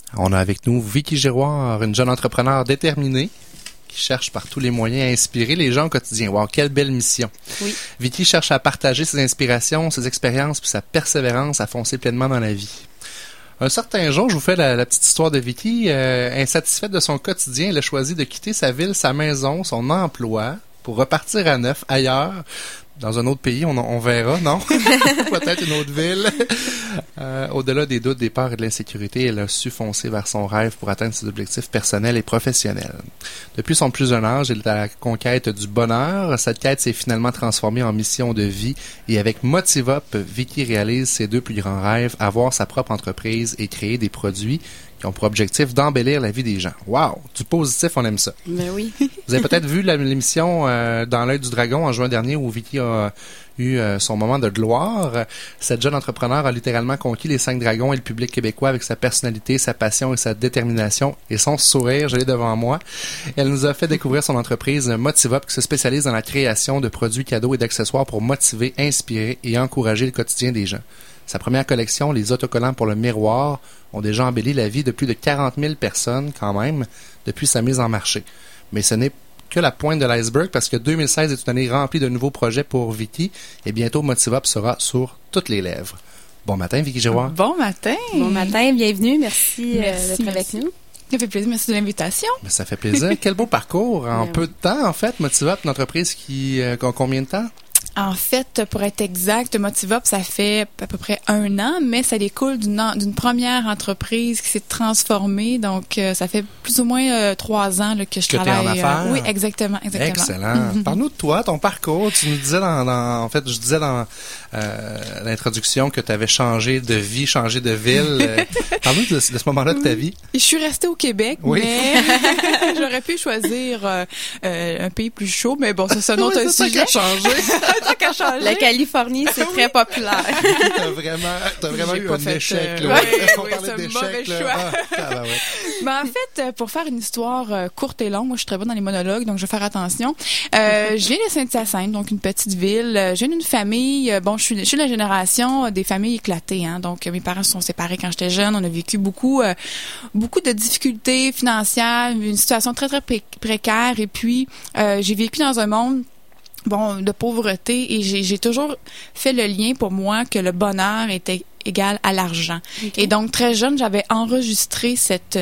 On a avec nous Vicky Giroir, une jeune entrepreneur déterminée qui cherche par tous les moyens à inspirer les gens au quotidien. Wow, quelle belle mission. Oui. Vicky cherche à partager ses inspirations, ses expériences puis sa persévérance à foncer pleinement dans la vie. Un certain jour, je vous fais la petite histoire de Vicky. Insatisfaite de son quotidien, elle a choisi de quitter sa ville, sa maison, son emploi pour repartir à neuf ailleurs. Dans un autre pays, on verra, non? Peut-être une autre ville. Au-delà des doutes, des peurs et de l'insécurité, elle a su foncer vers son rêve pour atteindre ses objectifs personnels et professionnels. Depuis son plus jeune âge, elle est à la conquête du bonheur. Cette quête s'est finalement transformée en mission de vie. Et avec Motivop, Vicky réalise ses deux plus grands rêves, avoir sa propre entreprise et créer des produits qui ont pour objectif d'embellir la vie des gens. Wow! Du positif, on aime ça. Ben oui. Vous avez peut-être vu l'émission Dans l'œil du dragon en juin dernier où Vicky a eu son moment de gloire. Cette jeune entrepreneur a littéralement conquis les 5 dragons et le public québécois avec sa personnalité, sa passion et sa détermination et son sourire. Je l'ai devant moi. Elle nous a fait découvrir son entreprise Motivop qui se spécialise dans la création de produits cadeaux et d'accessoires pour motiver, inspirer et encourager le quotidien des gens. Sa première collection, les autocollants pour le miroir, ont déjà embelli la vie de plus de 40 000 personnes quand même depuis sa mise en marché. Mais ce n'est que la pointe de l'iceberg parce que 2016 est une année remplie de nouveaux projets pour Vicky et bientôt Motivop sera sur toutes les lèvres. Bon matin, Vicky Giroir. Bon matin. Bon matin, bienvenue. Merci, d'être avec nous. Ça fait plaisir. Merci de l'invitation. Mais ça fait plaisir. Quel beau parcours en peu de temps, en fait. Motivop, une entreprise qui a combien de temps? En fait, pour être exact, Motivop, ça fait à peu près 1 an, mais ça découle d'une première entreprise qui s'est transformée. Donc, ça fait plus ou moins 3 ans là, que je travaille. T'es en affaires? Oui, exactement. Excellent. Parle-nous de toi, ton parcours. Tu nous disais en fait, je disais dans l'introduction que tu avais changé de vie, changé de ville. Parle-nous de ce moment-là de ta vie. Je suis restée au Québec, oui. Mais j'aurais pu choisir un pays plus chaud, mais bon, ça, c'est un autre sujet. C'est ça qui a changé. La Californie, c'est très populaire. T'as vraiment eu un échec. Oui, c'est un mauvais choix. Ben, en fait, pour faire une histoire courte et longue, moi, je suis très bonne dans les monologues, donc je vais faire attention. Je viens de Saint-Hyacinthe, donc une petite ville. Je viens d'une famille, bon, je suis de la génération des familles éclatées, hein. Donc, mes parents se sont séparés quand j'étais jeune. On a vécu beaucoup de difficultés financières, une situation très, très précaire. Et puis, j'ai vécu dans un monde de pauvreté et j'ai toujours fait le lien pour moi que le bonheur était égal à l'argent. Okay. Et donc, très jeune, j'avais enregistré cette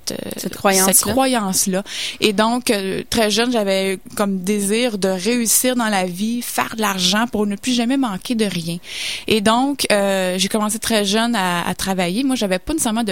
croyance-là. Et donc, très jeune, j'avais comme désir de réussir dans la vie, faire de l'argent pour ne plus jamais manquer de rien. Et donc, j'ai commencé très jeune à travailler. Moi, j'avais pas nécessairement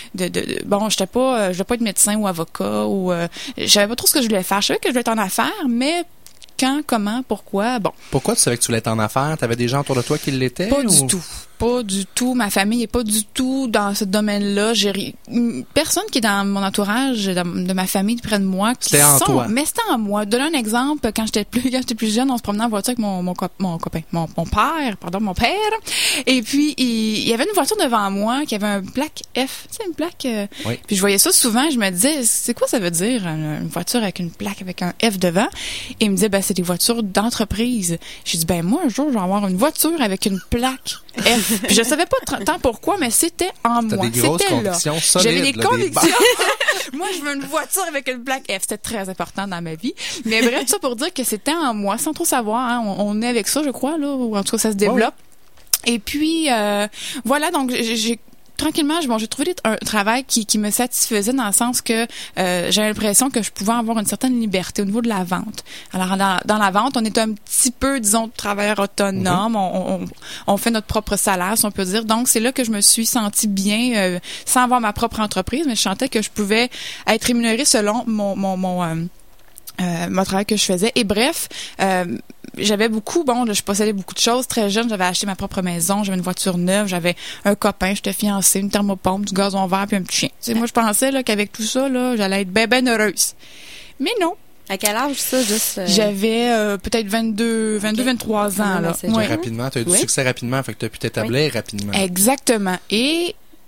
je voulais pas être médecin ou avocat ou je savais pas trop ce que je voulais faire. Je savais que je voulais être en affaires, mais quand, comment, pourquoi, bon. Pourquoi tu savais que tu voulais être en affaires? T'avais des gens autour de toi qui l'étaient? Pas du tout. Ma famille est pas du tout dans ce domaine-là. J'ai personne qui est dans mon entourage, de ma famille, près de moi, qui c'était en toi. Mais c'était en moi. Donner un exemple, quand j'étais plus jeune, on se promenait en voiture avec mon père. Et puis, il y avait une voiture devant moi qui avait un plaque F. Tu sais, une plaque. Oui. Puis je voyais ça souvent. Je me disais, c'est quoi ça veut dire, une voiture avec une plaque avec un F devant? Et il me disait, c'est des voitures d'entreprise. J'ai dit, moi, un jour, je vais avoir une voiture avec une plaque F. Puis je savais pas tant pourquoi, mais c'était en moi. Des grosses convictions solides. J'avais des convictions. Moi, je veux une voiture avec une plaque F. C'était très important dans ma vie. Mais bref, tout ça pour dire que c'était en moi, sans trop savoir. Hein. On est avec ça, je crois, là. Ou en tout cas, ça se développe. Oh. Et puis, voilà, donc tranquillement, j'ai trouvé un travail qui me satisfaisait dans le sens que j'avais l'impression que je pouvais avoir une certaine liberté au niveau de la vente. Alors, dans la vente, on est un petit peu, disons, travailleur autonome. Mm-hmm. On fait notre propre salaire, si on peut dire. Donc, c'est là que je me suis sentie bien, sans avoir ma propre entreprise, mais je sentais que je pouvais être rémunérée selon mon travail que je faisais. Et bref, j'avais je possédais beaucoup de choses. Très jeune, j'avais acheté ma propre maison, j'avais une voiture neuve, j'avais un copain, j'étais fiancée, une thermopompe, du gazon vert puis un petit chien. Tu sais, moi, je pensais là, qu'avec tout ça, là, j'allais être ben heureuse. Mais non. À quel âge, ça, juste? J'avais peut-être 23 ans. Là. Rapidement, tu as eu du succès rapidement, fait que tu as pu t'établir rapidement. Exactement. Et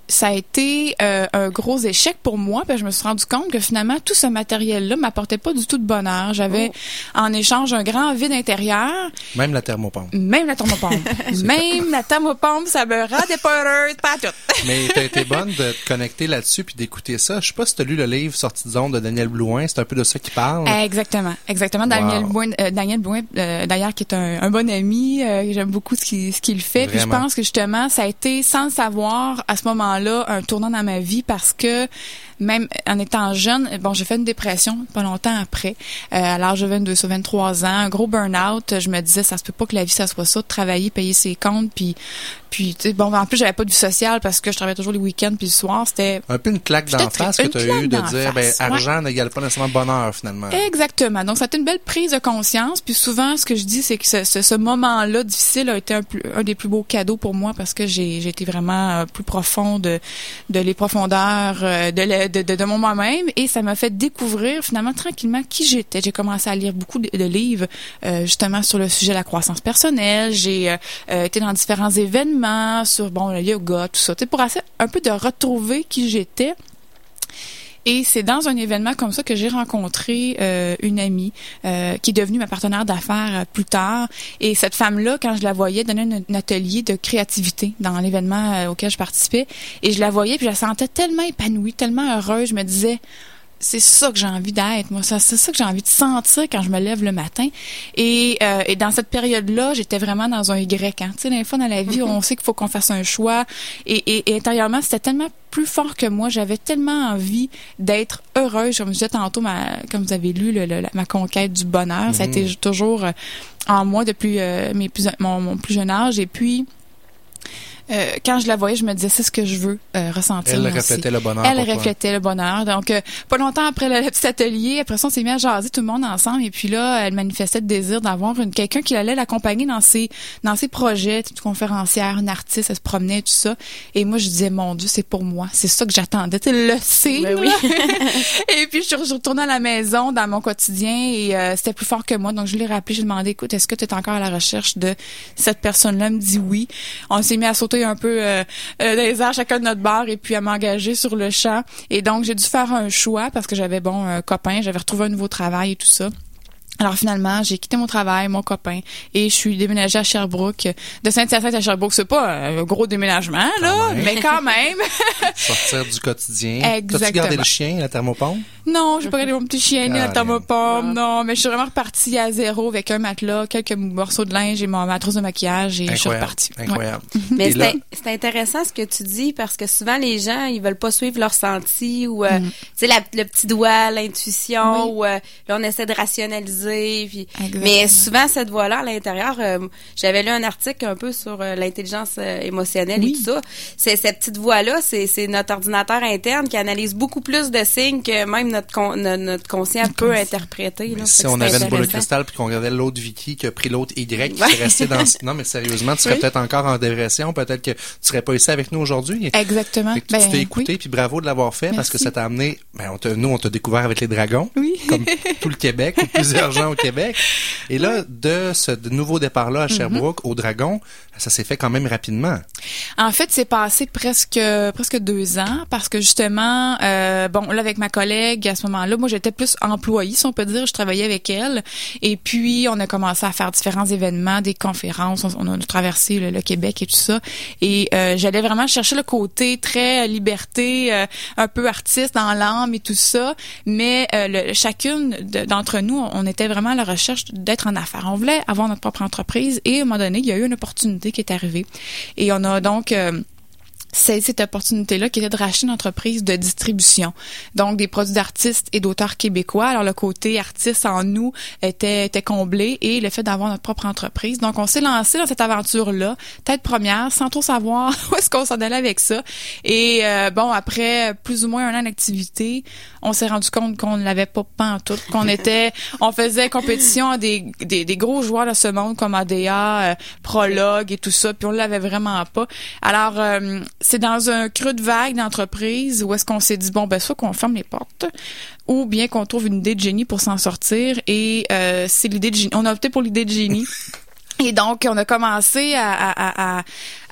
ça a été un gros échec pour moi, parce que je me suis rendu compte que finalement tout ce matériel-là m'apportait pas du tout de bonheur. J'avais en échange un grand vide intérieur. Même la thermopompe. Même la thermopompe. Même la thermopompe, ça me rendait pas heureuse, pas tout. Mais t'as été bonne de te connecter là-dessus puis d'écouter ça. Je sais pas si t'as lu le livre Sortie de zone de Daniel Blouin, c'est un peu de ça qu'il parle. Exactement. Daniel Blouin, d'ailleurs, qui est un bon ami, j'aime beaucoup ce qu'il fait. Puis je pense que justement, ça a été, sans le savoir, à ce moment-là, un tournant dans ma vie, parce que même en étant jeune, j'ai fait une dépression pas longtemps après, à l'âge de 22 ou 23 ans, un gros burn-out. Je me disais, ça se peut pas que la vie, ça soit ça, de travailler, payer ses comptes, puis tu sais, en plus, j'avais pas de vie sociale parce que je travaillais toujours les week-ends puis le soir, c'était... Un peu une claque d'en face que tu as eu de dire, argent n'égale pas nécessairement bonheur, finalement. Exactement. Donc, ça a été une belle prise de conscience. Puis souvent, ce que je dis, c'est que ce moment-là difficile a été un des plus beaux cadeaux pour moi, parce que j'ai été vraiment plus profond de les profondeurs de mon moi-même, et ça m'a fait découvrir finalement tranquillement qui j'étais. J'ai commencé à lire beaucoup de livres justement sur le sujet de la croissance personnelle. J'ai été dans différents événements sur le yoga, tout ça, pour essayer un peu de retrouver qui j'étais. Et c'est dans un événement comme ça que j'ai rencontré une amie qui est devenue ma partenaire d'affaires plus tard. Et cette femme-là, quand je la voyais, donnait un atelier de créativité dans l'événement auquel je participais. Et je la voyais, puis je la sentais tellement épanouie, tellement heureuse. Je me disais, c'est ça que j'ai envie d'être, moi. C'est ça que j'ai envie de sentir quand je me lève le matin. Et dans cette période-là, j'étais vraiment dans un Y. Hein. Tu sais, des fois dans la vie, on sait qu'il faut qu'on fasse un choix. Et intérieurement, c'était tellement plus fort que moi. J'avais tellement envie d'être heureuse. Comme je disais tantôt, comme vous avez lu, ma conquête du bonheur, ça a été toujours en moi depuis mon plus jeune âge. Et puis, quand je la voyais, je me disais, c'est ce que je veux ressentir. Elle reflétait le bonheur. Elle reflétait le bonheur. Donc, pas longtemps après le petit atelier, après ça, on s'est mis à jaser tout le monde ensemble. Et puis là, elle manifestait le désir d'avoir quelqu'un qui allait l'accompagner dans ses projets, une conférencière, une artiste, elle se promenait, tout ça. Et moi, je disais, mon Dieu, c'est pour moi. C'est ça que j'attendais. Tu le sais. Ben oui. Et puis, je retournais à la maison, dans mon quotidien, et c'était plus fort que moi. Donc, je l'ai rappelé, j'ai demandé, écoute, est-ce que tu es encore à la recherche de cette personne-là? Elle me dit oui. On s'est mis à sauter un peu dans les airs, chacun de notre bar, et puis à m'engager sur le champ. Et donc, j'ai dû faire un choix parce que j'avais, un copain, j'avais retrouvé un nouveau travail et tout ça. Alors finalement, j'ai quitté mon travail, mon copain, et je suis déménagée à Sherbrooke. De Saint-Hyacinthe à Sherbrooke, c'est pas un gros déménagement, là, mais quand même. Sortir du quotidien. Exactement. T'as-tu gardé le chien, la thermopompe? Non, j'ai pas gardé mon petit chien, ni la thermopompe, non, mais je suis vraiment repartie à zéro avec un matelas, quelques morceaux de linge et ma trousse de maquillage, et je suis repartie. Incroyable. Mais c'est intéressant ce que tu dis, parce que souvent les gens, ils veulent pas suivre leur senti, ou tu sais, le petit doigt, l'intuition, ou là on essaie de rationaliser. Puis, mais souvent cette voix-là à l'intérieur, j'avais lu un article un peu sur l'intelligence émotionnelle et tout ça. Cette petite voix-là, c'est notre ordinateur interne qui analyse beaucoup plus de signes que même notre conscient peut interpréter. Là. Si on avait une boule de cristal puis qu'on regardait l'autre Vicky qui a pris l'autre Y qui s'est resté dans... Non, mais sérieusement, tu serais peut-être encore en dépression, peut-être que tu serais pas ici avec nous aujourd'hui. Exactement. Tu t'es écouté, puis bravo de l'avoir fait. Merci. Parce que ça t'a amené... nous, on t'a découvert avec les dragons, comme tout le Québec, ou plusieurs gens au Québec. Et là, de ce nouveau départ-là à Sherbrooke, au Dragon, ça s'est fait quand même rapidement. En fait, c'est passé presque 2 ans, parce que justement, là, avec ma collègue, à ce moment-là, moi, j'étais plus employée, si on peut dire. Je travaillais avec elle. Et puis, on a commencé à faire différents événements, des conférences. On a traversé le Québec et tout ça. Et j'allais vraiment chercher le côté très liberté, un peu artiste dans l'âme et tout ça. Mais chacune d'entre nous, on était vraiment à la recherche d'être en affaires. On voulait avoir notre propre entreprise, et à un moment donné, il y a eu une opportunité qui est arrivée. Et on a donc cette opportunité-là qui était de racheter une entreprise de distribution. Donc, des produits d'artistes et d'auteurs québécois. Alors, le côté artiste en nous était comblé, et le fait d'avoir notre propre entreprise. Donc, on s'est lancé dans cette aventure-là, tête première, sans trop savoir où est-ce qu'on s'en allait avec ça. Et après plus ou moins 1 an d'activité, on s'est rendu compte qu'on ne l'avait pas pantoute, on faisait compétition à des gros joueurs de ce monde comme ADA, Prologue et tout ça, puis on l'avait vraiment pas. Alors, c'est dans un creux de vague d'entreprise où est-ce qu'on s'est dit, soit qu'on ferme les portes, ou bien qu'on trouve une idée de génie pour s'en sortir. Et c'est l'idée de génie. On a opté pour l'idée de génie. Et donc, on a commencé à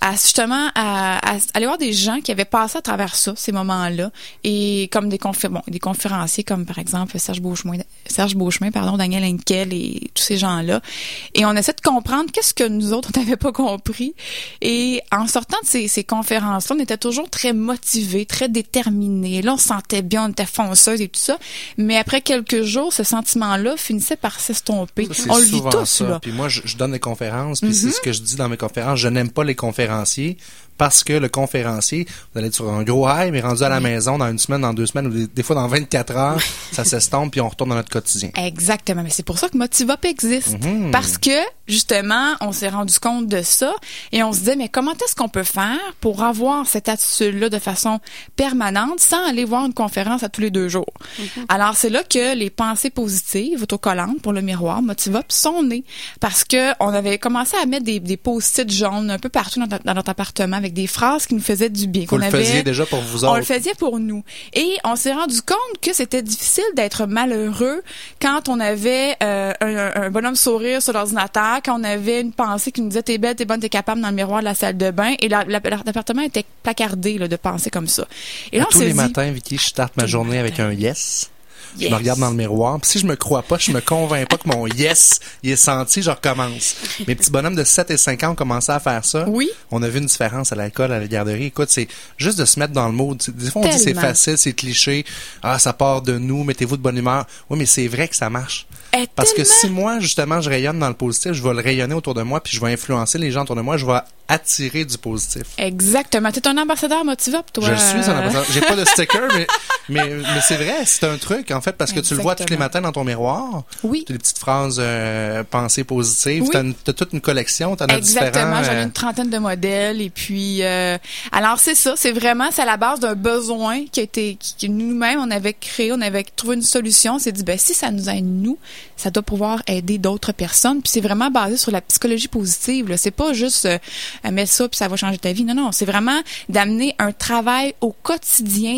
justement à aller voir des gens qui avaient passé à travers ça, ces moments-là, et comme des conférenciers comme par exemple Serge Beauchemin, Daniel Henkel et tous ces gens-là. Et on essaie de comprendre qu'est-ce que nous autres on n'avait pas compris. Et en sortant de ces conférences-là, on était toujours très motivés, très déterminés. Là, on se sentait bien, on était fonceuse et tout ça. Mais après quelques jours, ce sentiment-là finissait par s'estomper. On le vit tous, là. Puis moi, je donne des conférences, puis c'est ce que je dis dans mes conférences. Je n'aime pas les conférenciers parce que le conférencier, vous allez être sur un gros high, mais rendu à la maison dans une semaine, dans 2 semaines, ou des fois dans 24 heures, ça s'estompe, puis on retourne dans notre quotidien. Exactement. Mais c'est pour ça que Motivop existe. Parce que, justement, on s'est rendu compte de ça et on se disait, mais comment est-ce qu'on peut faire pour avoir cette attitude-là de façon permanente sans aller voir une conférence à tous les 2 jours? Alors, c'est là que les pensées positives, autocollantes pour le miroir, Motivop, sont nées. Parce que on avait commencé à mettre des post-it jaunes un peu partout dans notre appartement avec des phrases qui nous faisaient du bien. Vous le faisiez déjà pour vous autres. On le faisait pour nous. Et on s'est rendu compte que c'était difficile d'être malheureux quand on avait un bonhomme sourire sur l'ordinateur, quand on avait une pensée qui nous disait « T'es belle, t'es bonne, t'es capable » dans le miroir de la salle de bain. Et l'appartement était placardé là, de pensées comme ça. Et là, tous les matins, Vicky, je starte ma journée avec un « yes ». Je me regarde dans le miroir. Puis si je me crois pas, je me convainc pas que mon yes, il est senti, je recommence. Mes petits bonhommes de 7 et 5 ans ont commencé à faire ça. Oui. On a vu une différence à l'école, à la garderie. Écoute, c'est juste de se mettre dans le mood. Des fois, on dit c'est facile, c'est cliché. Ah, ça part de nous, mettez-vous de bonne humeur. Oui, mais c'est vrai que ça marche. Parce que si moi, justement, je rayonne dans le positif, je vais le rayonner autour de moi, puis je vais influencer les gens autour de moi, je vais attirer du positif. Exactement. T'es un ambassadeur Motivop, toi. Je suis un ambassadeur. J'ai pas de sticker, mais c'est vrai, c'est un truc, en fait, parce que tu le vois tous les matins dans ton miroir. Oui. Tu as des petites phrases pensées positives. Oui. T'as toute une collection, t'en as différents. Exactement. J'en ai une trentaine de modèles, et puis, alors c'est ça, c'est à la base d'un besoin qui nous-mêmes, on avait créé, on avait trouvé une solution. On s'est dit, ben, si ça nous aide nous, ça doit pouvoir aider d'autres personnes. Puis c'est vraiment basé sur la psychologie positive, là. C'est pas juste mets ça puis ça va changer ta vie. Non, c'est vraiment d'amener un travail au quotidien,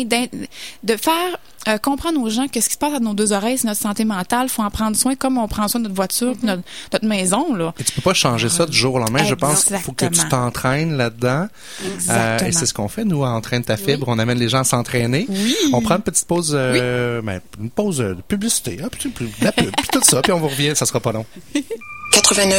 de faire comprendre aux gens que ce qui se passe à nos 2 oreilles, c'est notre santé mentale. Faut en prendre soin comme on prend soin de notre voiture, notre maison, là. Et tu peux pas changer ça du jour au lendemain. Exactement. Je pense qu'il faut que tu t'entraînes là-dedans. Et c'est ce qu'on fait, nous, à Entraîne ta fibre. Oui. On amène les gens à s'entraîner. Oui. On prend une petite pause, une pause de publicité, hein, puis la pub, puis tout ça, puis on vous revient, ça sera pas long. 89.1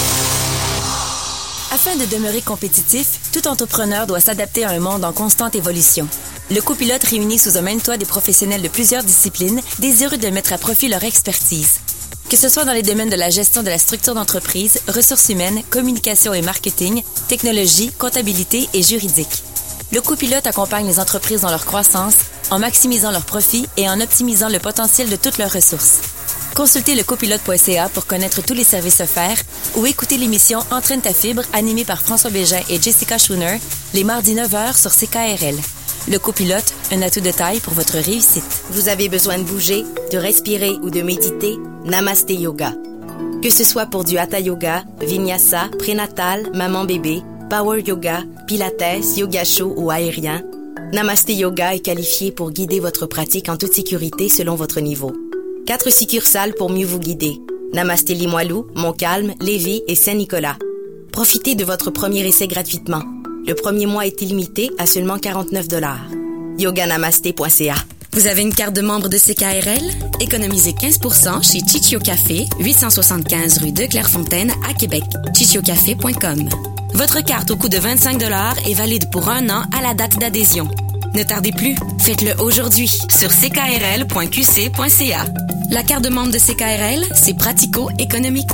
Afin de demeurer compétitif, tout entrepreneur doit s'adapter à un monde en constante évolution. Le copilote réunit sous un même toit des professionnels de plusieurs disciplines, désireux de mettre à profit leur expertise. Que ce soit dans les domaines de la gestion de la structure d'entreprise, ressources humaines, communication et marketing, technologie, comptabilité et juridique. Le copilote accompagne les entreprises dans leur croissance, en maximisant leurs profits et en optimisant le potentiel de toutes leurs ressources. Consultez lecopilote.ca pour connaître tous les services offerts ou écoutez l'émission Entraîne ta fibre animée par François Bégin et Jessica Schooner les mardis 9h sur CKRL. Le copilote, un atout de taille pour votre réussite. Vous avez besoin de bouger, de respirer ou de méditer? Namasté Yoga. Que ce soit pour du Hatha Yoga, Vinyasa, prénatal, maman-bébé, Power Yoga, Pilates, Yoga chaud ou aérien, Namasté Yoga est qualifié pour guider votre pratique en toute sécurité selon votre niveau. 4 succursales pour mieux vous guider. Namasté Limoilou, Montcalm, Lévis et Saint-Nicolas. Profitez de votre premier essai gratuitement. Le premier mois est illimité à seulement 49 $. Yoganamasté.ca. Vous avez une carte de membre de CKRL? Économisez 15% chez Chichio Café, 875 rue de Clairefontaine à Québec. chichiocafé.com. Votre carte au coût de 25 $ est valide pour 1 an à la date d'adhésion. Ne tardez plus, faites-le aujourd'hui sur ckrl.qc.ca. La carte de membre de CKRL, c'est pratico-économique.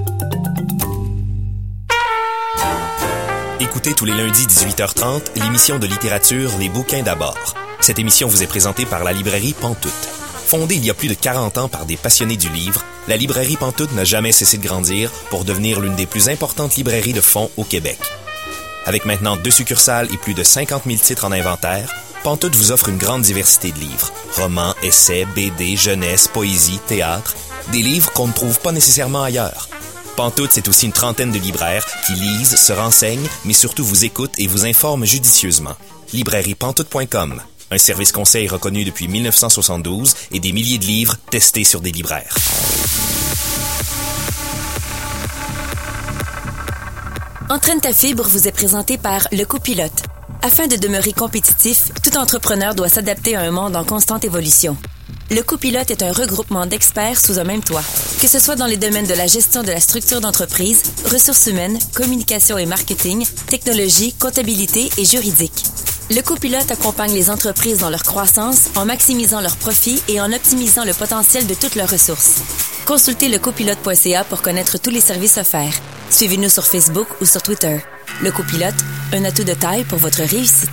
Écoutez tous les lundis 18h30 l'émission de littérature Les bouquins d'abord. Cette émission vous est présentée par la librairie Pantoute. Fondée il y a plus de 40 ans par des passionnés du livre, la librairie Pantoute n'a jamais cessé de grandir pour devenir l'une des plus importantes librairies de fonds au Québec. Avec maintenant 2 succursales et plus de 50 000 titres en inventaire, Pantoute vous offre une grande diversité de livres. Romans, essais, BD, jeunesse, poésie, théâtre. Des livres qu'on ne trouve pas nécessairement ailleurs. Pantoute, c'est aussi une trentaine de libraires qui lisent, se renseignent, mais surtout vous écoutent et vous informent judicieusement. Librairiepantoute.com. Un service conseil reconnu depuis 1972 et des milliers de livres testés sur des libraires. Entraîne ta fibre vous est présenté par Le Copilote. Afin de demeurer compétitif, tout entrepreneur doit s'adapter à un monde en constante évolution. Le Copilote est un regroupement d'experts sous un même toit. Que ce soit dans les domaines de la gestion de la structure d'entreprise, ressources humaines, communication et marketing, technologie, comptabilité et juridique. Le Copilote accompagne les entreprises dans leur croissance en maximisant leurs profits et en optimisant le potentiel de toutes leurs ressources. Consultez lecopilote.ca pour connaître tous les services offerts. Suivez-nous sur Facebook ou sur Twitter. Le Copilote, un atout de taille pour votre réussite.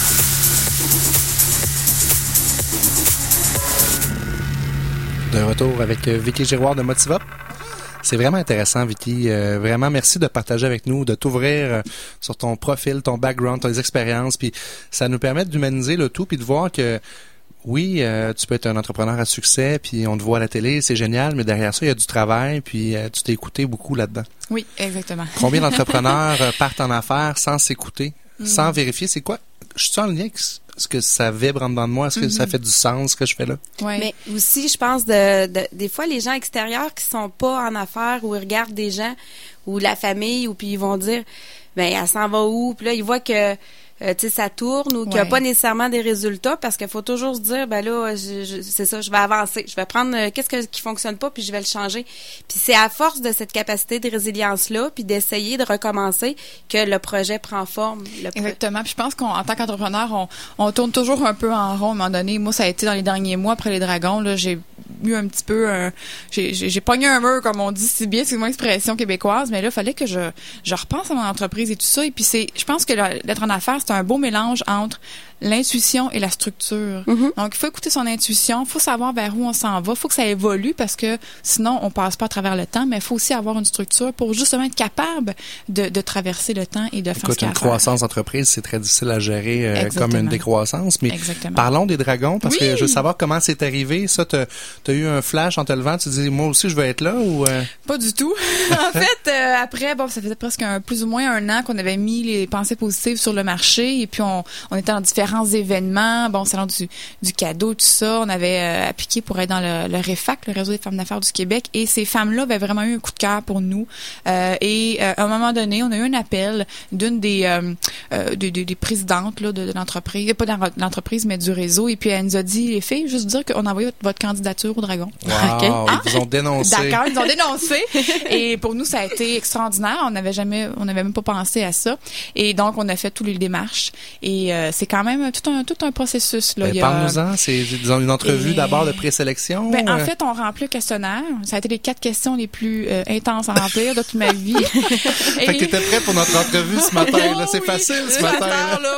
De retour avec Vicky Giroir de Motivop. C'est vraiment intéressant, Vicky. Vraiment, merci de partager avec nous, de t'ouvrir sur ton profil, ton background, tes expériences. Puis ça nous permet d'humaniser le tout, puis de voir que oui, tu peux être un entrepreneur à succès, puis on te voit à la télé, c'est génial, mais derrière ça, il y a du travail, puis tu t'es écouté beaucoup là-dedans. Oui, exactement. Combien d'entrepreneurs partent en affaires sans s'écouter, sans vérifier? C'est quoi? Je suis en lien avec ce que ça vibre en dedans de moi? Est-ce que ça fait du sens, ce que je fais là? Ouais. Mais aussi, je pense, des fois, les gens extérieurs qui sont pas en affaires ou ils regardent des gens ou la famille ou puis ils vont dire, ben elle s'en va où? Puis là, ils voient que tu sais, ça tourne ou qu'il n'y a pas nécessairement des résultats parce qu'il faut toujours se dire, ben là, c'est ça, je vais avancer. Je vais prendre qu'est-ce qui fonctionne pas puis je vais le changer. Puis c'est à force de cette capacité de résilience-là puis d'essayer de recommencer que le projet prend forme. Exactement. Puis je pense qu'en tant qu'entrepreneur, on tourne toujours un peu en rond à un moment donné. Moi, ça a été dans les derniers mois après les dragons, là, j'ai eu un petit peu j'ai pogné un mur, comme on dit si bien, c'est mon expression québécoise, mais là, il fallait que je repense à mon entreprise et tout ça. Et puis je pense que l'être en affaires, c'est un beau mélange entre l'intuition et la structure. Donc, il faut écouter son intuition, il faut savoir vers où on s'en va, il faut que ça évolue parce que sinon, on passe pas à travers le temps, mais il faut aussi avoir une structure pour justement être capable de traverser le temps et de faire ce qu'il y a à faire. Une croissance d'entreprise, c'est très difficile à gérer comme une décroissance, mais parlons des dragons parce que je veux savoir comment c'est arrivé. Ça, t'as eu un flash en te levant, tu dis, moi aussi, je veux être là ou... Pas du tout. En fait, après, ça faisait presque plus ou moins un an qu'on avait mis les pensées positives sur le marché et puis on était dans différents événements, salon du cadeau, tout ça. On avait appliqué pour être dans le REFAC, le Réseau des femmes d'affaires du Québec, et ces femmes-là avaient vraiment eu un coup de cœur pour nous. Et à un moment donné, on a eu un appel d'une des présidentes là, de l'entreprise, pas de l'entreprise, mais du réseau, et puis elle nous a dit, les filles, juste dire qu'on a envoyé votre candidature au Dragon. Wow, ils vous ont dénoncé. D'accord, ils ont dénoncé. Et pour nous, ça a été extraordinaire. On n'avait même pas pensé à ça. Et donc, on a fait toutes les démarches. Et c'est quand même tout un processus. Là. Parle-nous-en. C'est disons, une entrevue d'abord de présélection. En fait, on remplit le questionnaire. Ça a été les 4 questions les plus intenses à remplir de toute ma vie. Fait que t'étais prêt pour notre entrevue ce matin. Là. C'est facile ce matin.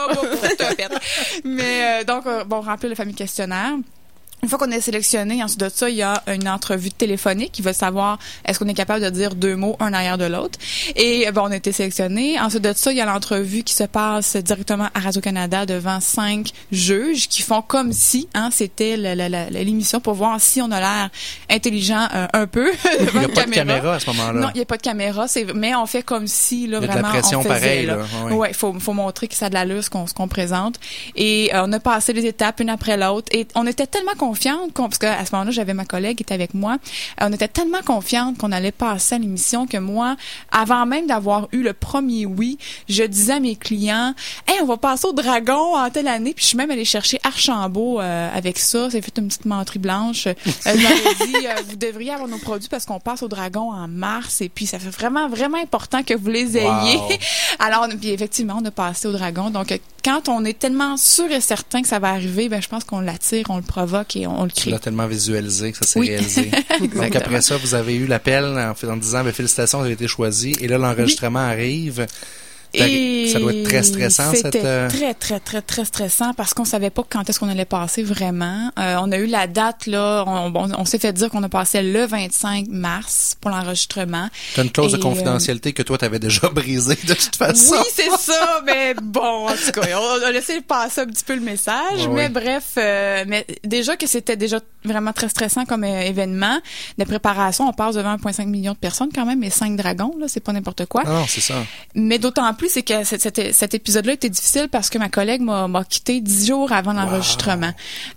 Mais donc, on remplit le fameux questionnaire. Une fois qu'on est sélectionné, ensuite de ça, il y a une entrevue téléphonique qui va savoir est-ce qu'on est capable de dire 2 mots un derrière de l'autre. Et on a été sélectionné. Ensuite de ça, il y a l'entrevue qui se passe directement à Radio-Canada devant 5 juges qui font comme si c'était l'émission pour voir si on a l'air intelligent un peu. Il n'y a pas de caméra à ce moment-là. Non, il n'y a pas de caméra, mais on fait comme si là, il y a vraiment de la pression on faisait. Pareil, là. Ouais, faut montrer que ça a de l'allure ce qu'on présente. Et on a passé les étapes une après l'autre. Et on était tellement confiante, parce qu'à ce moment-là, j'avais ma collègue qui était avec moi. On était tellement confiante qu'on allait passer à l'émission que moi, avant même d'avoir eu le premier oui, je disais à mes clients, on va passer au Dragon en telle année. Puis je suis même allée chercher Archambault avec ça. C'est fait une petite menterie blanche. Je m'avais dit, vous devriez avoir nos produits parce qu'on passe au Dragon en mars. Et puis ça fait vraiment, vraiment important que vous les ayez. Wow. Alors, puis effectivement, on a passé au Dragon. Donc, quand on est tellement sûr et certain que ça va arriver, je pense qu'on l'attire, on le provoque et on le crée. Tu l'as tellement visualisé que ça s'est réalisé. Donc après ça, vous avez eu l'appel en disant félicitations, vous avez été choisi. Et là, l'enregistrement arrive. Et ça doit être très stressant. C'était très, très, très, très stressant parce qu'on savait pas quand est-ce qu'on allait passer vraiment. On a eu la date, là, on s'est fait dire qu'on a passé le 25 mars pour l'enregistrement. T'as une clause de confidentialité que toi, t'avais déjà brisée de toute façon. Oui, c'est ça, mais bon, en tout cas, on a laissé passer un petit peu le message. Mais bref, mais déjà que c'était déjà vraiment très stressant comme événement de préparation. On passe devant 1,5 million de personnes quand même, mais 5 dragons, là, c'est pas n'importe quoi. Non, c'est ça. Mais d'autant plus, c'est que cet épisode-là était difficile parce que ma collègue m'a quitté 10 jours avant l'enregistrement.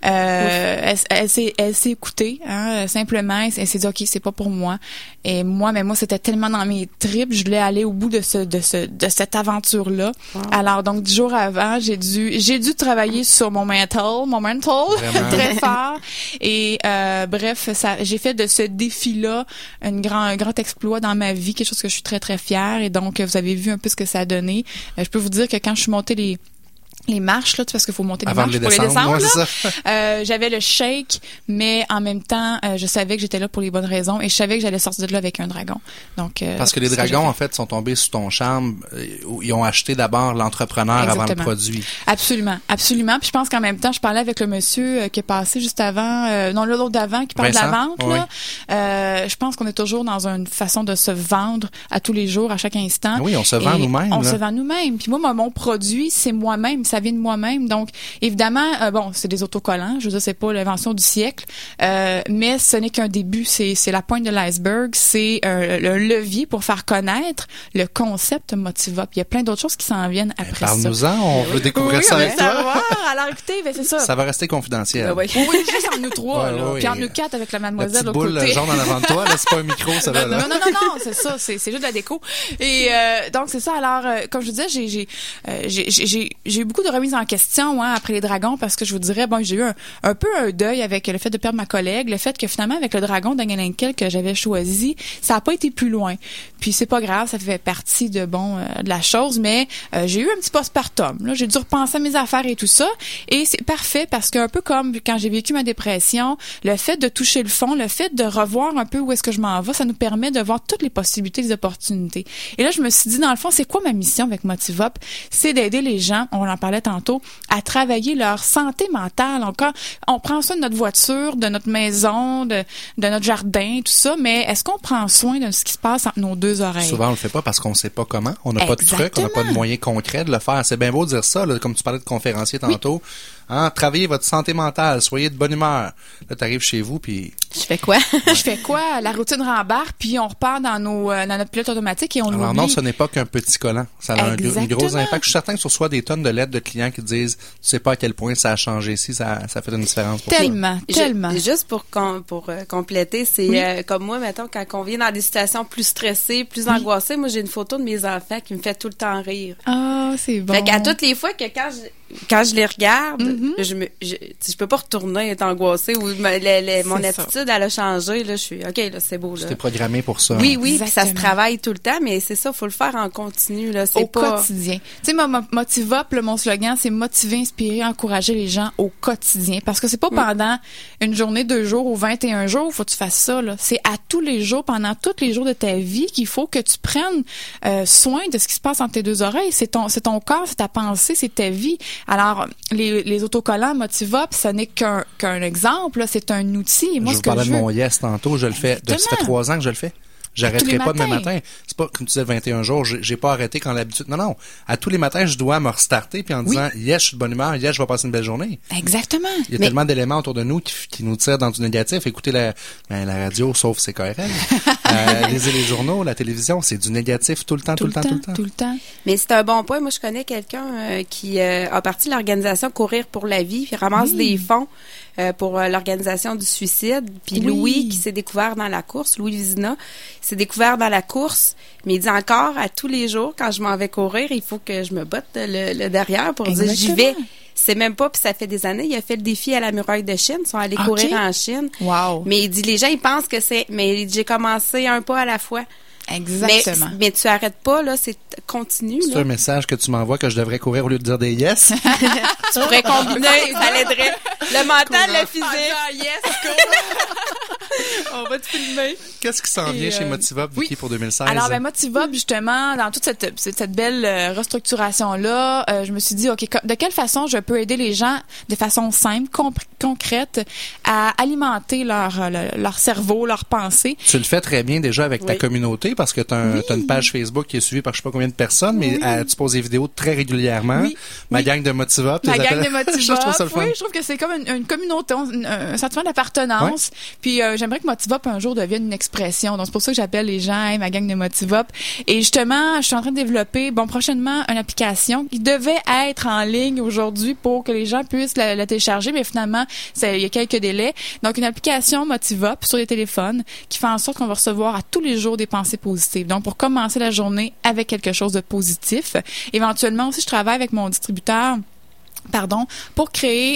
Elle s'est écoutée, hein, simplement. Elle s'est dit, OK, c'est pas pour moi. Et moi, c'était tellement dans mes tripes. Je voulais aller au bout de cette aventure-là. Wow. Alors, donc, 10 jours avant, j'ai dû travailler sur mon mental très fort. Et, bref, j'ai fait de ce défi-là un grand exploit dans ma vie, quelque chose que je suis très, très fière. Et donc, vous avez vu un peu ce que ça a donné. Je peux vous dire que quand je suis montée les marches, là, parce qu'il faut monter les marches pour les descendre, là. J'avais le shake, mais en même temps, je savais que j'étais là pour les bonnes raisons et je savais que j'allais sortir de là avec un dragon. Donc, parce que les dragons, en fait, sont tombés sous ton charme. Ils ont acheté d'abord l'entrepreneur avant le produit. Absolument. Puis je pense qu'en même temps, je parlais avec le monsieur qui est passé juste avant, l'autre d'avant, qui parle de la vente, là. Je pense qu'on est toujours dans une façon de se vendre à tous les jours, à chaque instant. Oui, on se vend nous-mêmes. On se vend nous-mêmes. Puis moi, mon produit, c'est moi-même. Ça vient de moi-même. Donc, évidemment, c'est des autocollants. Je veux dire, c'est pas l'invention du siècle. Mais ce n'est qu'un début. C'est la pointe de l'iceberg. C'est le levier pour faire connaître le concept Motivop. Il y a plein d'autres choses qui s'en viennent après ça. Parle-nous-en. On veut découvrir ça avec toi. Alors, écoutez, c'est ça. Ça va rester confidentiel. Oui, juste entre nous trois. Là. Puis entre nous quatre avec la mademoiselle au côté. La petite boule jaune en avant de toi, là, c'est pas un micro, ça va, là. Non, c'est ça. C'est juste de la déco. Et donc, c'est ça. Alors, comme je vous disais, j'ai eu beaucoup de remises en question après les dragons parce que je vous dirais, j'ai eu un peu un deuil avec le fait de perdre ma collègue, le fait que finalement, avec le dragon d'Angelinkel que j'avais choisi, ça a pas été plus loin. Puis c'est pas grave, ça fait partie de la chose, mais j'ai eu un petit postpartum. Là, j'ai dû repenser à mes affaires et tout ça. Et c'est parfait parce qu'un peu comme quand j'ai vécu ma dépression, le fait de toucher le fond, le fait de revoir un peu où est-ce que je m'en vais, ça nous permet de voir toutes les possibilités, les opportunités. Et là, je me suis dit, dans le fond, c'est quoi ma mission avec Motivop? C'est d'aider les gens, on en parlait tantôt, à travailler leur santé mentale. Encore, on prend soin de notre voiture, de notre maison, de notre jardin, tout ça, mais est-ce qu'on prend soin de ce qui se passe entre nos deux oreilles? Souvent, on le fait pas parce qu'on sait pas comment. On n'a pas de truc, on n'a pas de moyens concrets de le faire. C'est bien beau de dire ça, là, comme tu parlais de conférencier tantôt. Oui. Hein, travaillez votre santé mentale, soyez de bonne humeur. Là, t'arrives chez vous, puis... Je fais quoi? Je fais quoi? La routine rembarque, puis on repart dans notre pilote automatique et on Alors oublie. Non, ce n'est pas qu'un petit collant. Ça a un gros impact. Je suis certain que tu reçois des tonnes de lettres de clients qui te disent, tu sais pas à quel point ça a changé ici, ça fait une différence pour tellement. Juste pour compléter, c'est comme moi, mettons, quand on vient dans des situations plus stressées, plus angoissées, moi, j'ai une photo de mes enfants qui me fait tout le temps rire. Ah, c'est bon. Fait qu'à toutes les fois que quand je les regarde, je peux pas retourner être angoissée ou mon attitude, elle a changé, là, je suis, OK, là, c'est beau, là. C'était programmé pour ça. Oui, puis ça se travaille tout le temps, mais c'est ça, faut le faire en continu, là. C'est au quotidien. Tu sais, Motivop, mon slogan, c'est motiver, inspirer, encourager les gens au quotidien. Parce que c'est pas pendant une journée, 2 jours ou 21 jours, faut que tu fasses ça, là. C'est à tous les jours, pendant tous les jours de ta vie qu'il faut que tu prennes soin de ce qui se passe entre tes deux oreilles. C'est ton corps, c'est ta pensée, c'est ta vie. Alors, les autocollants Motivop, ce n'est qu'un exemple, là, c'est un outil. Et moi, je vous parlais de mon yes tantôt, je le fais. Ça fait 3 ans que je le fais. J'arrêterai pas demain matin. C'est pas, comme tu disais, 21 jours, j'ai pas arrêté quand l'habitude. Non. À tous les matins, je dois me restarter puis en disant, yes, je suis de bonne humeur, yes, je vais passer une belle journée. Exactement. Il y a tellement d'éléments autour de nous qui nous tirent dans du négatif. Écoutez la radio, sauf CKRL. Lisez les journaux, la télévision, c'est du négatif tout le temps. Tout le temps. Mais c'est un bon point. Moi, je connais quelqu'un qui a parti de l'organisation Courir pour la vie, puis ramasse des fonds pour l'organisation du suicide. Puis Louis, qui s'est découvert dans la course, Louis Vizina, s'est découvert dans la course, mais il dit encore, à tous les jours, quand je m'en vais courir, il faut que je me botte le derrière pour dire, j'y vais. C'est même pas, puis ça fait des années, il a fait le défi à la muraille de Chine, ils sont allés courir en Chine. Wow. Mais il dit, les gens, ils pensent que mais j'ai commencé un pas à la fois. Exactement. Mais tu arrêtes pas, là, c'est continu. C'est un message que tu m'envoies que je devrais courir au lieu de dire des yes? Tu pourrais combiner, ça l'aiderait. Le mental, le physique. Yes, on va te filmer. Qu'est-ce qui s'en vient chez Motivop, Vicky, pour 2016? Alors, Motivop, justement, dans toute cette belle restructuration-là, je me suis dit, OK, de quelle façon je peux aider les gens de façon simple, concrètes à alimenter leur cerveau, leurs pensées. Tu le fais très bien déjà avec ta communauté parce que tu as une page Facebook qui est suivie par je sais pas combien de personnes, mais tu poses des vidéos très régulièrement. Ma gang de Motivop. Ma gang de Motivop. Je trouve ça le fun. Oui, je trouve que c'est comme une communauté, un sentiment d'appartenance. Puis j'aimerais que Motivop un jour devienne une expression. Donc c'est pour ça que j'appelle les gens ma gang de Motivop. Et justement, je suis en train de développer prochainement une application qui devait être en ligne aujourd'hui pour que les gens puissent la télécharger, mais finalement, il y a quelques délais. Donc une application Motivop sur les téléphones qui fait en sorte qu'on va recevoir à tous les jours des pensées positives. Donc pour commencer la journée avec quelque chose de positif. Éventuellement aussi, je travaille avec mon distributeur pour créer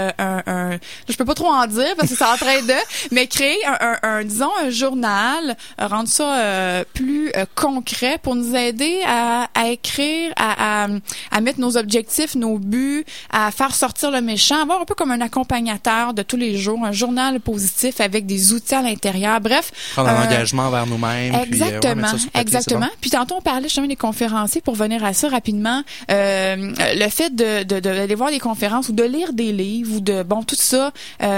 je peux pas trop en dire parce que c'est en train de, mais créer disons un journal, rendre ça plus concret pour nous aider à écrire, à mettre nos objectifs, nos buts, à faire sortir le méchant, avoir un peu comme un accompagnateur de tous les jours, un journal positif avec des outils à l'intérieur. Bref, prendre un engagement vers nous-mêmes. Exactement, puis, papier, exactement. Bon. Puis tantôt on parlait justement des conférenciers, pour venir à ça rapidement, le fait d'aller voir des conférences ou de lire des livres ou tout ça,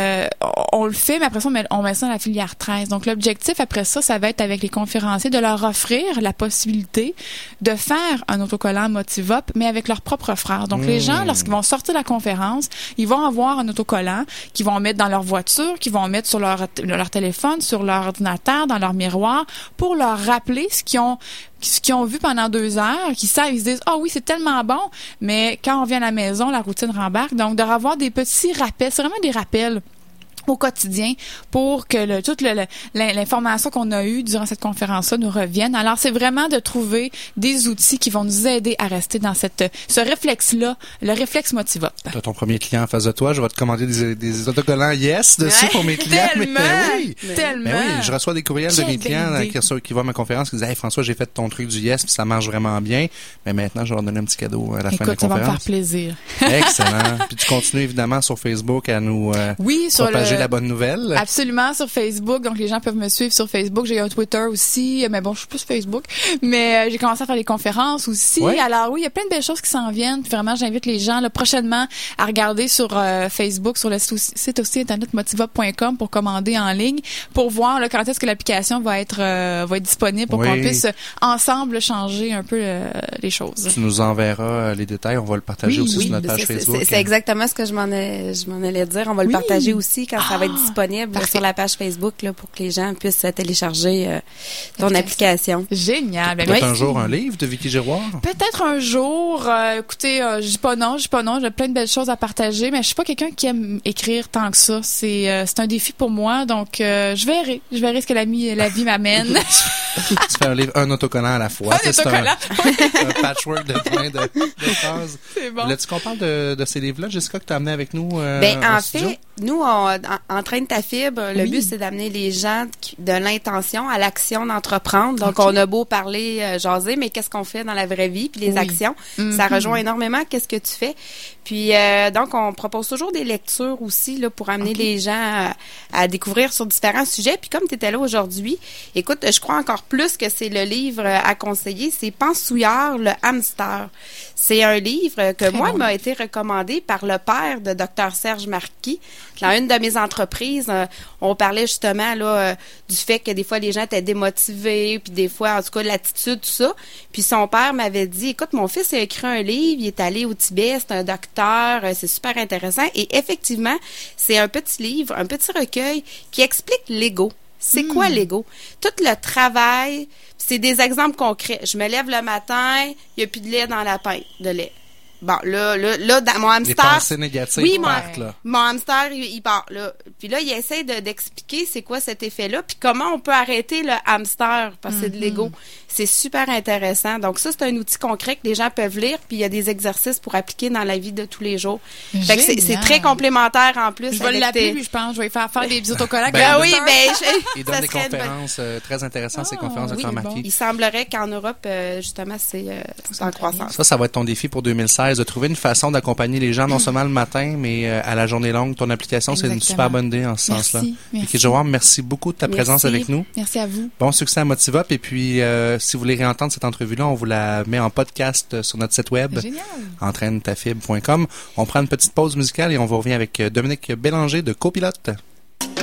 on le fait, mais après ça, on met ça dans la filière 13. Donc, l'objectif après ça va être avec les conférenciers de leur offrir la possibilité de faire un autocollant Motivop, mais avec leurs propres frères. Donc, les gens, lorsqu'ils vont sortir de la conférence, ils vont avoir un autocollant qu'ils vont mettre dans leur voiture, qu'ils vont mettre sur leur téléphone, sur leur ordinateur, dans leur miroir, pour leur rappeler ce qu'ils ont vu pendant 2 heures, qu'ils savent, ils se disent, oui, c'est tellement bon, mais quand on vient à la maison, la routine rembarque. Donc, de revoir des petits rappels, c'est vraiment des rappels au quotidien pour que toute l'information qu'on a eue durant cette conférence-là nous revienne. Alors, c'est vraiment de trouver des outils qui vont nous aider à rester dans ce réflexe-là, le réflexe Motivop. Tu as ton premier client en face de toi, je vais te commander des autocollants Yes dessus pour mes clients. Tellement! Oui, je reçois des courriels de mes clients qui vont à ma conférence qui disent « Hey François, j'ai fait ton truc du Yes, puis ça marche vraiment bien, mais maintenant, je vais leur donner un petit cadeau à la fin de la conférence. » Ça va me faire plaisir. Excellent. Puis tu continues évidemment sur Facebook à nous propager la bonne nouvelle. Absolument, sur Facebook. Donc, les gens peuvent me suivre sur Facebook. J'ai un Twitter aussi. Mais bon, je suis plus Facebook. Mais j'ai commencé à faire des conférences aussi. Oui. Alors oui, il y a plein de belles choses qui s'en viennent. Puis vraiment, j'invite les gens prochainement à regarder sur Facebook, sur le site aussi internet motivop.com pour commander en ligne, pour voir quand est-ce que l'application va être disponible pour qu'on puisse ensemble changer un peu les choses. Tu nous enverras les détails. On va le partager aussi sur notre page Facebook. C'est exactement ce que je m'en allais dire. On va le partager aussi quand ça va être disponible sur la page Facebook pour que les gens puissent télécharger ton application. Génial. Peut-être un jour un livre de Vicky Giroir? Peut-être un jour. Écoutez, je dis pas non. J'ai plein de belles choses à partager, mais je suis pas quelqu'un qui aime écrire tant que ça. C'est un défi pour moi, donc je verrai ce que la vie m'amène. Tu fais un livre, un autocollant à la fois. Un autocollant. Un patchwork de plein de phrases. C'est bon. Voulais-tu qu'on parle de ces livres-là, Jessica, que tu as amené avec nous? En fait, nous, Entraîne ta fibre, le but, c'est d'amener les gens de l'intention à l'action d'entreprendre. Donc, on a beau parler, jaser, mais qu'est-ce qu'on fait dans la vraie vie? Puis les actions, ça rejoint énormément qu'est-ce que tu fais. Puis, donc, on propose toujours des lectures aussi là pour amener les gens à découvrir sur différents sujets. Puis, comme tu étais là aujourd'hui, écoute, je crois encore plus que c'est le livre à conseiller. C'est Pensouillard, le hamster. C'est un livre que il m'a été recommandé par le père de Dr. Serge Marquis. Dans une de mes entreprises, on parlait justement là du fait que des fois les gens étaient démotivés, puis des fois en tout cas l'attitude, tout ça. Puis son père m'avait dit, écoute, mon fils a écrit un livre, il est allé au Tibet, c'est un docteur, c'est super intéressant. Et effectivement, c'est un petit livre, un petit recueil qui explique l'ego. C'est quoi l'ego? Tout le travail, c'est des exemples concrets. Je me lève le matin, il n'y a plus de lait dans la pinte de lait. Bon, là, dans mon hamster. Les pensées négatives partent, là. Mon hamster, il part, là. Puis là, il essaie d'expliquer c'est quoi cet effet-là, puis comment on peut arrêter le hamster, parce que c'est de l'ego. C'est super intéressant. Donc, ça, c'est un outil concret que les gens peuvent lire, puis il y a des exercices pour appliquer dans la vie de tous les jours. Fait que c'est très complémentaire en plus. Je vais l'appeler, puis je pense, je vais faire des autocollants. Il donne des conférences très intéressantes, ces conférences de Dr. Marquis. Il semblerait qu'en Europe, justement, c'est en croissance. Ça va être ton défi pour 2016, de trouver une façon d'accompagner les gens, non seulement le matin, mais à la journée longue. Ton application, c'est une super bonne idée en ce sens-là. Vicky Giroir, merci beaucoup de ta présence avec nous. Merci à vous. Bon succès à Motivop, et puis si vous voulez réentendre cette entrevue-là, on vous la met en podcast sur notre site web, entraînetafib.com. On prend une petite pause musicale et on vous revient avec Dominique Bélanger de Copilote.